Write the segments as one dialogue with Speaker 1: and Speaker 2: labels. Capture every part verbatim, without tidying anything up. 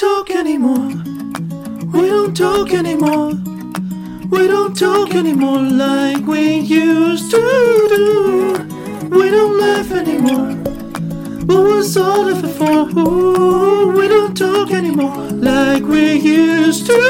Speaker 1: talk anymore. We don't talk anymore. We don't talk anymore like we used to do. We don't laugh anymore. What was all of it for? Ooh, we don't talk anymore like we used to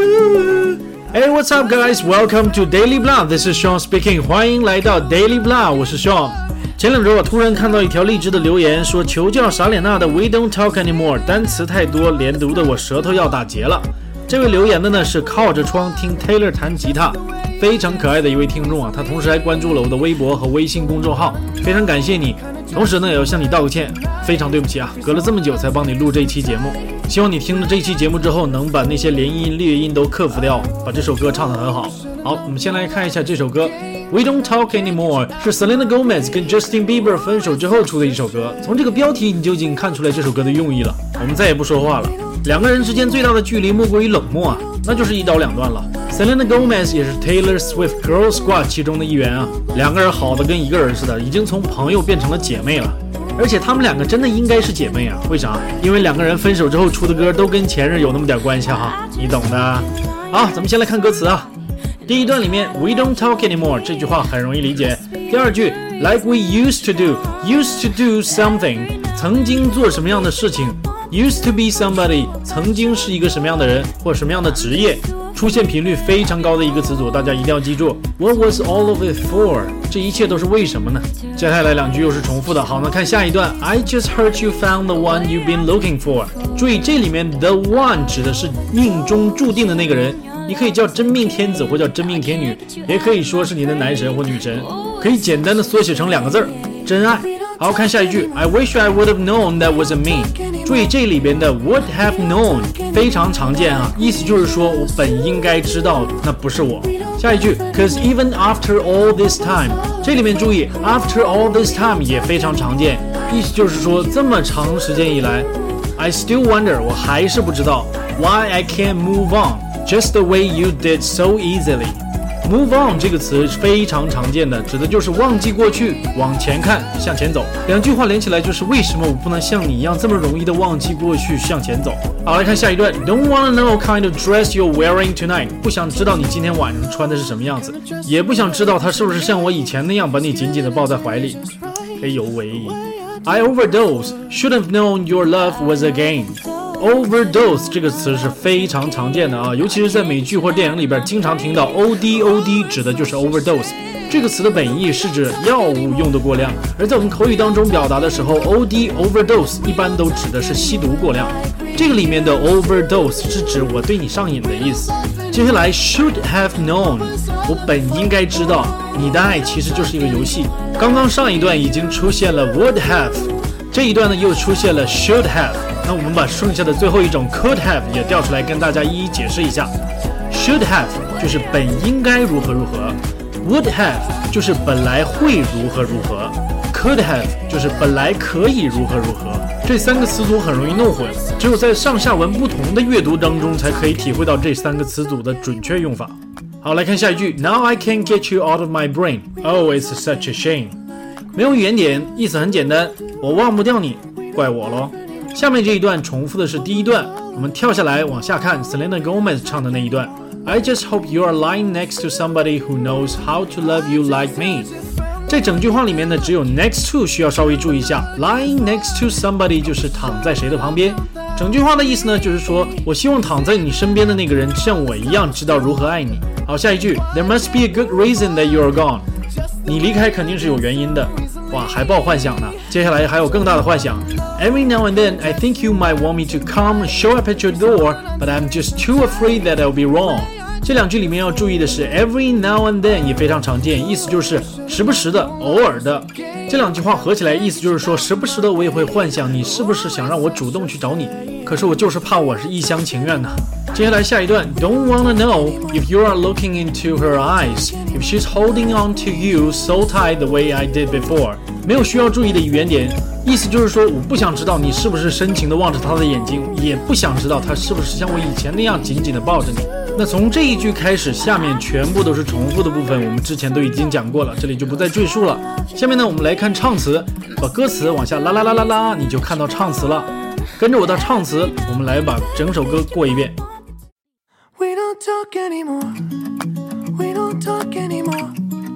Speaker 1: do.
Speaker 2: Hey, what's up, guys? Welcome to Daily Blah. This is Sean speaking. 欢迎来到 Daily Blah， 我是 Sean。前两周我突然看到一条励志的留言，说求教傻脸娜的 We don't talk anymore 单词太多，连读的我舌头要打结了。这位留言的呢是靠着窗听 Taylor 弹吉他，非常可爱的一位听众啊，他同时还关注了我的微博和微信公众号，非常感谢你。同时呢也要向你道个歉，非常对不起啊，隔了这么久才帮你录这一期节目。希望你听了这一期节目之后能把那些连音裂音都克服掉，把这首歌唱得很好。好，我们先来看一下这首歌 We Don't Talk Anymore 是 Selena Gomez 跟 Justin Bieber 分手之后出的一首歌，从这个标题你就已经看出来这首歌的用意了。我们再也不说话了，两个人之间最大的距离莫过于冷漠啊，那就是一刀两断了。 Selena Gomez 也是 Taylor Swift Girl Squad 其中的一员啊，两个人好的跟一个人似的，已经从朋友变成了姐妹了。而且他们两个真的应该是姐妹啊，为啥？因为两个人分手之后出的歌都跟前任有那么点关系哈，你懂的。好，咱们先来看歌词啊。第一段里面 We don't talk anymore 这句话很容易理解。第二句 Like we used to do Used to do something 曾经做什么样的事情， Used to be somebody 曾经是一个什么样的人或什么样的职业，出现频率非常高的一个词组，大家一定要记住。 What was all of it for 这一切都是为什么呢？接下来两句又是重复的。好，那看下一段 I just heard you found the one you've been looking for 注意这里面 the one 指的是命中注定的那个人，你可以叫真命天子或叫真命天女，也可以说是你的男神或女神，可以简单的缩写成两个字儿，真爱。好，看下一句 I wish I would have known that wasn't me 注意这里边的 would have known 非常常见啊，意思就是说我本应该知道那不是我。下一句 Cause even after all this time 这里面注意 after all this time 也非常常见，意思就是说这么长时间以来 I still wonder 我还是不知道 Why I can't move on Just the way you did so easily Move on 这个词非常常见的，指的就是忘记过去，往前看，向前走。两句话连起来就是为什么我不能像你一样这么容易的忘记过去，向前走。好，来看下一段 Don't wanna know kind of dress you're wearing tonight 不想知道你今天晚上穿的是什么样子，也不想知道他是不是像我以前那样把你紧紧的抱在怀里。哎呦喂 I overdose Should have known your love was a game Overdose 这个词是非常常见的啊，尤其是在美剧或电影里边经常听到 O D O D 指的就是 overdose 这个词的本意是指药物用的过量，而在我们口语当中表达的时候 O D overdose 一般都指的是吸毒过量，这个里面的 overdose 是指我对你上瘾的意思。接下来 should have known 我本应该知道，你的爱其实就是一个游戏。刚刚上一段已经出现了 would have， 这一段呢又出现了 should have，那我们把剩下的最后一种 could have 也调出来跟大家一一解释一下。 Should have 就是本应该如何如何， Would have 就是本来会如何如何， Could have 就是本来可以如何如何。这三个词组很容易弄混，只有在上下文不同的阅读当中才可以体会到这三个词组的准确用法。好，来看下一句 Now I can't get you out of my brain Oh it's such a shame 没有语言点，意思很简单，我忘不掉你，怪我咯。下面这一段重复的是第一段，我们跳下来往下看 Selena Gomez 唱的那一段 I just hope you are lying next to somebody who knows how to love you like me 这整句话里面呢只有 next to 需要稍微注意一下， lying next to somebody 就是躺在谁的旁边，整句话的意思呢就是说我希望躺在你身边的那个人像我一样知道如何爱你。好，下一句 There must be a good reason that you are gone 你离开肯定是有原因的，哇，还抱幻想呢。接下来还有更大的幻想 Every now and then I think you might want me to come show up at your door But I'm just too afraid that I'll be wrong 这两句里面要注意的是 Every now and then 也非常常见，意思就是时不时的，偶尔的。这两句话合起来意思就是说时不时的我也会幻想你是不是想让我主动去找你，可是我就是怕我是一厢情愿呢。接下来下一段 Don't wanna know if you are looking into her eyes If she's holding on to you so tight the way I did before 没有需要注意的语言点，意思就是说我不想知道你是不是深情地望着她的眼睛，也不想知道她是不是像我以前那样紧紧地抱着你。那从这一句开始，下面全部都是重复的部分，我们之前都已经讲过了，这里就不再赘述了。下面呢我们来看唱词，把歌词往下拉拉拉拉拉，你就看到唱词了。 跟着我的唱词，我们来把整首歌过一遍。
Speaker 1: We don't talk anymore. We don't talk anymore.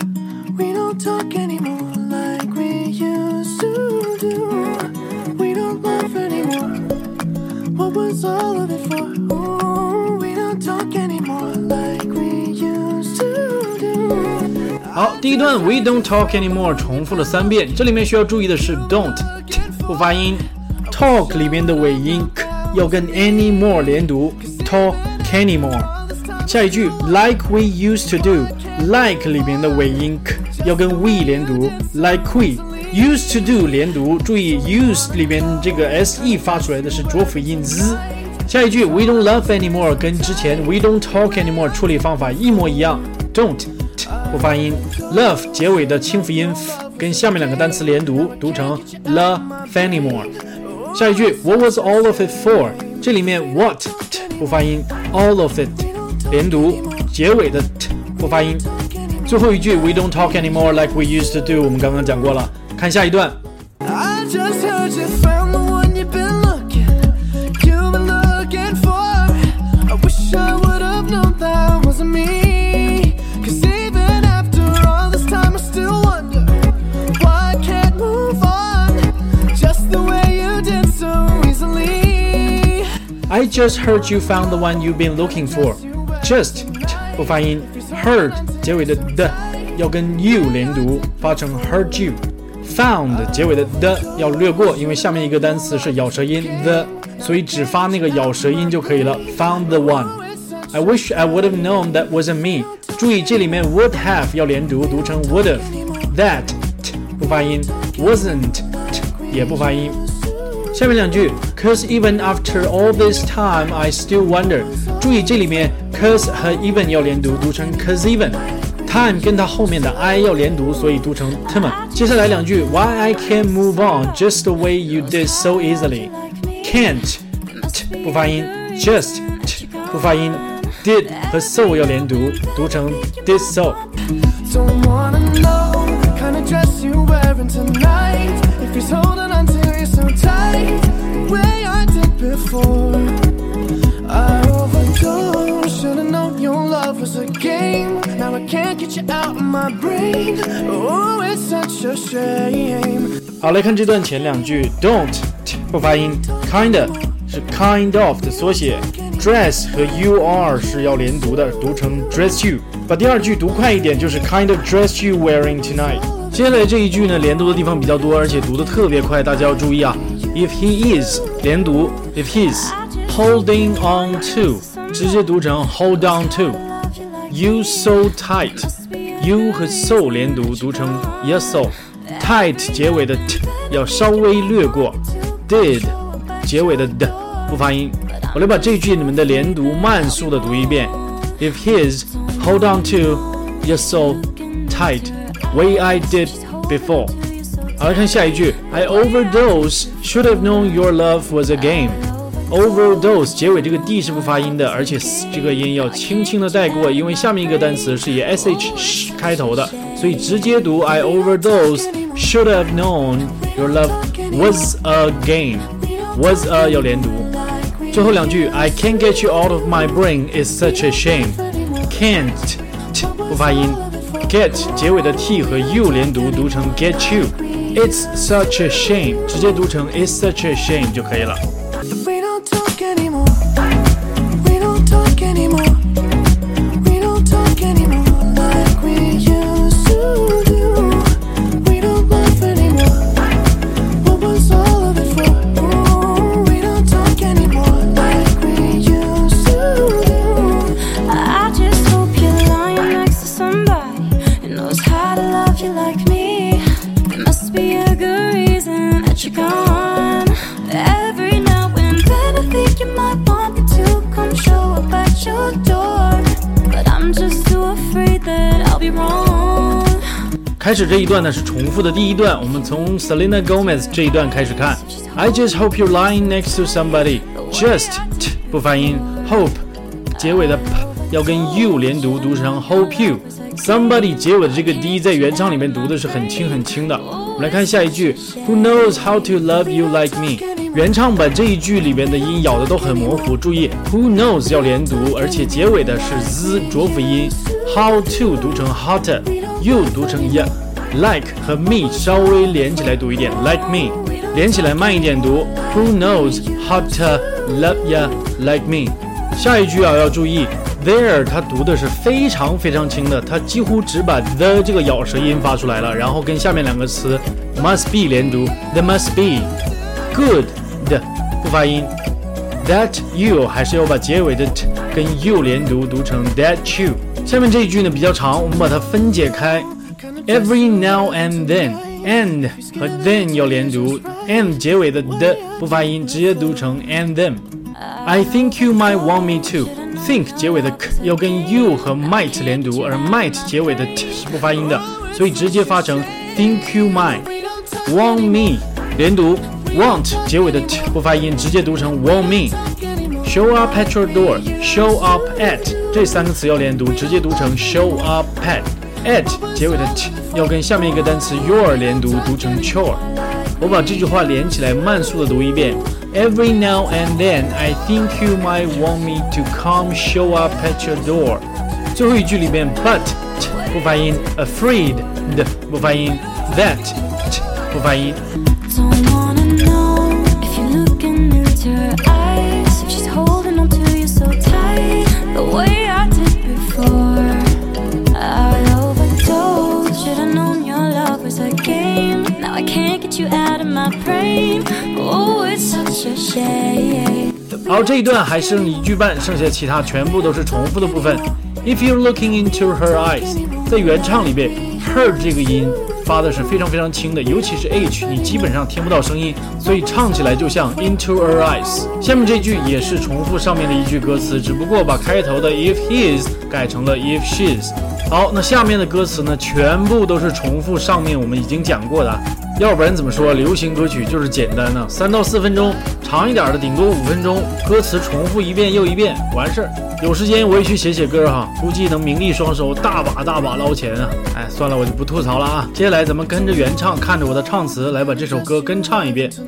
Speaker 1: We don't talk anymore like we used to do. We don't laugh anymore. What was all of it for? Ooh, we don't talk anymore like we used to do.
Speaker 2: 好，第一段 We don't talk anymore 重复了三遍，这里面需要注意的是 don't t 不发音 ，talk 里面的尾音 k 要跟 anymore 连读 talk anymore。下一句 like we used to do like 里面的尾音 k 要跟 we 连读 like we used to do 连读，注意 use 里面这个 se 发出来的是浊辅音 z。下一句 we don't laugh anymore 跟之前 we don't talk anymore 处理方法一模一样 don't t 不发音 love 结尾的清辅音 f 跟下面两个单词连读，读成 laugh anymore。下一句 what was all of it for 这里面 what t 不发音 all of it连读，结尾的 t 不发音。最后一句 we don't talk anymore like we used to do 我们刚刚讲过了。看下一段
Speaker 1: I just heard you found the one you've been looking You've been looking for I wish I would have known that wasn't me Cause even after all this time I still wonder Why I can't move on Just the way you did so easily
Speaker 2: I just heard you found the one you've been looking for Just 不发音 Heard 结尾的的要跟 you 连读，发成 heard you Found 结尾的的要略过，因为下面一个单词是咬舌音 the 所以只发那个咬舌音就可以了 Found the one I wish I would have known that wasn't me 注意这里面 would have 要连读，读成 would have That t 不发音 Wasn't t 也不发音。下面两句 Cause even after all this time I still wonder 注意这里面 cause 和 even 要连读，读成 cause even Time 跟它后面的 I 要连读，所以读成 time。接下来两句 Why I can't move on just the way you did so easily Can't t 不发音 Just t 不发音 Did 和 so 要连读，读成 did so
Speaker 1: Don't wanna know kind of dress you wearing tonight If he's holding on to you so tight The way I did before I overdosed Should've known your love was a game Now I can't get you out of my brain Oh, it's such a shame
Speaker 2: 好，来看这段前两句 Don't t 不发音 Kinda 是 kind of 的缩写 Dress 和 you are 是要连读的，读成 dress you 把第二句读快一点就是 kind of dress you wearing tonight 接下来这一句呢连读的地方比较多，而且读得特别快，大家要注意啊 If he is 连读 If he's holding on to 直接读成 hold on to You so tight You 和 so 连读，读成 you so Tight 结尾的 t 要稍微略过 Did 结尾的 d 不发音。我来把这句你们的连读慢速的读一遍 If his hold on to you so tight way I did before 好，来看下一句 I overdose should have known your love was a game Overdose 结尾这个 d 是不发音的，而且这个音要轻轻的带过，因为下面一个单词是以 sh 开头的，所以直接读 I overdose should have known your love was a game was a 要连读。最后两句 I can't get you out of my brain is such a shame Can't t 不发音 Get 结尾的 t 和 you 连读，读成 get you It's such a shame 直接读成 It's such a shame 就可以了。
Speaker 1: We don't talk anymore We don't talk anymore We don't talk anymore like we used to do We don't laugh anymore What was all of it for? Ooh, we don't talk anymore like we used to do
Speaker 3: I just hope you're lying next to somebody who knows how to love you like me There must be a good reason that you're gone Every now and then I think you might want me to come show up at your door But I'm just too afraid that I'll be wrong
Speaker 2: 开始这一段呢是重复的第一段，我们从 Selena Gomez 这一段开始看 I just hope you're lying next to somebody Just t 不发音 Hope 结尾的 p 要跟 you 连读，读成 hope you Somebody 结尾的这个 d 在原唱里面读的是很轻很轻的。我们来看下一句 Who knows how to love you like me 原唱把这一句里边的音咬的都很模糊，注意 who knows 要连读，而且结尾的是 z 浊辅音， how to 读成 hotter， you 读成 ya， like 和 me 稍微连起来读一点 like me， 连起来慢一点读 who knows how to love ya like me。 下一句啊要注意 there 它读的是非常非常轻的，它几乎只把 the 这个咬舌音发出来了，然后跟下面两个词 must be 连读 there must be。 good 的不发音， that you 还是要把结尾的 t 跟 you 连读，读成 that you。 下面这一句呢比较长，我们把它分解开， every now and then and 和 then 要连读， and 结尾的 the 不发音，直接读成 and then。 I think you might want me to， think 结尾的 k 要跟 you 和 might 连读，而 might 结尾的 t 是不发音的，所以直接发成 think you might want me 连读， want 结尾的 t 不发音，直接读成 want me。 show up at your door， show up at 这三个词要连读，直接读成 show up at， at 结尾的 t 要跟下面一个单词 your 连读，读成 chore。 我把这句话连起来慢速的读一遍， Every now and then I think you might want me to come show up at your door。 最后一句里面 but t 不发音， afraid 的不发音， that t 不发音。
Speaker 3: Don't wanna know if you're looking into her eyes, if she's holding on to you so tight, the way I did before. I overdosed, should've known your love was a game. Now I can't get you out of my brain. Oh, it's such a shame.
Speaker 2: 好，这一段还剩一句半，剩下其他全部都是重复的部分。If you're looking into her eyes， 在原唱里边 her 这个音发的是非常非常轻的，尤其是 h 你基本上听不到声音，所以唱起来就像 into her eyes。 下面这句也是重复上面的一句歌词，只不过把开头的 if his 改成了 if she's。 好，那下面的歌词呢全部都是重复上面我们已经讲过的，要不然怎么说流行歌曲就是简单呢？三到四分钟，长一点的顶多五分钟，歌词重复一遍又一遍，完事儿。有时间我也去写写歌哈，估计能名利双收，大把大把捞钱啊！哎，算了，我就不吐槽了啊。接下来咱们跟着原唱，看着我的唱词来把这首歌跟唱一遍。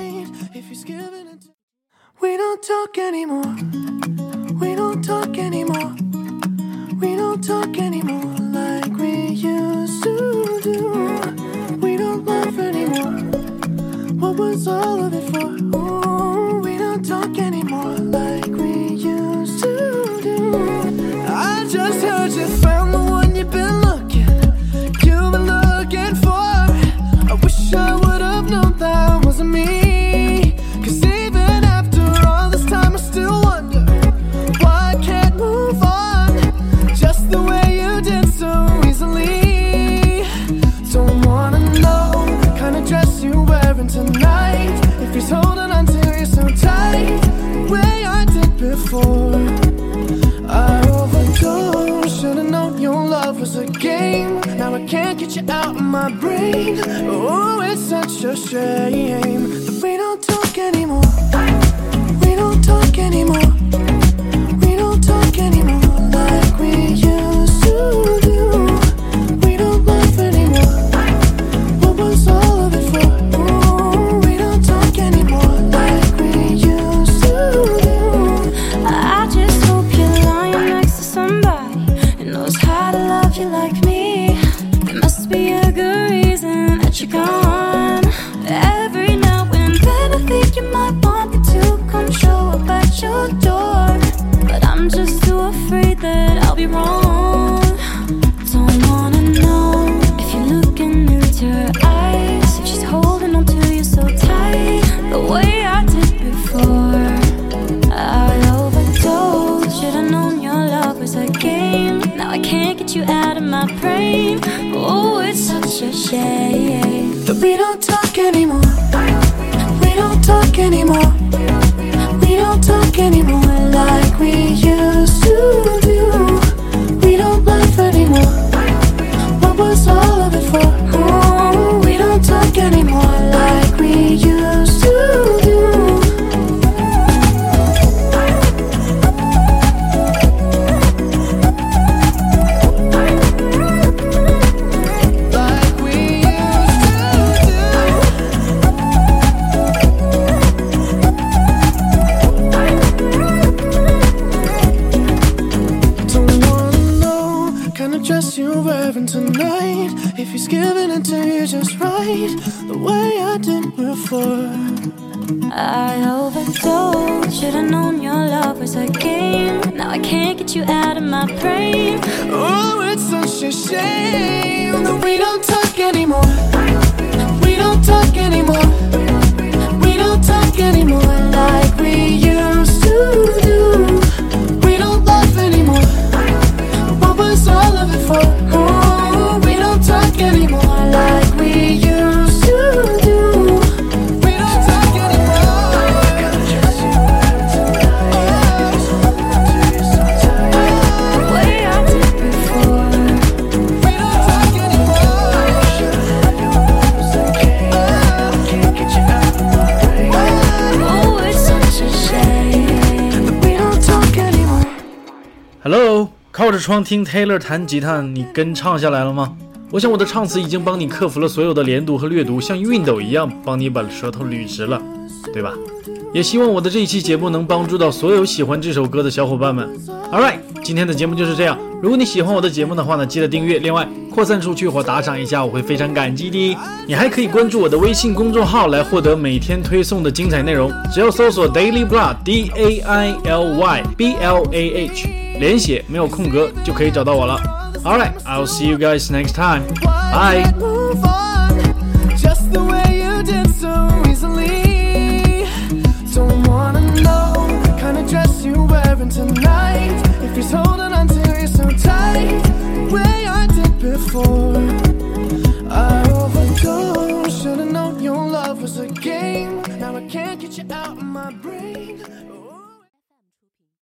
Speaker 1: We don't talk anymore. We don't talk anymore. We don't talk anymore like we used to do. We don't laugh anymore. What was all of it for? Ooh, we don't talk anymore like we used to do. I just heard you found the one you've been looking, you've been looking for. I wish I would have known that wasn't me. 'Cause even after all this time I still wonder why I can't move on just the way you did so easily. Don't wanna know the kind of dress you're wearing tonight, if he's holding on to you so tight the way I did before. I overdosed, should've known your love was a game. Now I can't get you out of my brain. Oh, it's such a shame that we don't talk anymore. We don't talk anymore. We don't talk anymore like we used to do. We don't laugh anymore. What was all of it for? Ooh, we don't talk anymore like we used to do.
Speaker 3: I just hope you're lying next to somebody who knows how to love you like me. There must be a good reason that you're gone. Every now and then I think you might want me to come show up at your door, but I'm just too afraid that I'll be wrong. Don't wanna know if you're looking into her eyes, if she's holding on to you so tight the way I did before. I overdosed, should've known your love was a game. Now I can't get you out of my brain. Oh, it's such a shame
Speaker 1: that we don't talk anymore. We don't talk anymore. We don't talk anymore like we used to do. We don't laugh anymore. What was all of it for? Oh, we don't talk anymore like we used to do. Like we used to do. wearing tonight. If he's giving it to you just right, the way I did before.
Speaker 3: I overdosed, should've known your love was a game. Now I can't get you out of my brain.
Speaker 1: Oh, it's such a shame that we don't talk anymore. We don't talk anymore. We don't talk anymore like we used to do. We don't laugh anymore. What was all of it for? Oh, we don't talk anymore like we used to do. We don't talk anymore.
Speaker 3: The way I did before.
Speaker 1: We don't talk anymore. Can't get you out of my brain.
Speaker 3: Oh, it's such a shame
Speaker 1: that we don't talk anymore.
Speaker 2: Hello， 靠着窗听 Taylor 弹吉他，你跟唱下来了吗？我想我的唱词已经帮你克服了所有的连读和略读，像熨斗一样帮你把舌头捋直了，对吧？也希望我的这一期节目能帮助到所有喜欢这首歌的小伙伴们。Alright， 今天的节目就是这样。如果你喜欢我的节目的话呢，记得订阅，另外扩散出去或打赏一下，我会非常感激的。你还可以关注我的微信公众号来获得每天推送的精彩内容，只要搜索 Daily Blah D A I L Y B L A H 连写没有空格就可以找到我了。Alright, I'll see you guys next time. Bye.
Speaker 1: Move on, just the way you did so easily. Don't wanna know the kind of dress you're wearing tonight. If he's holding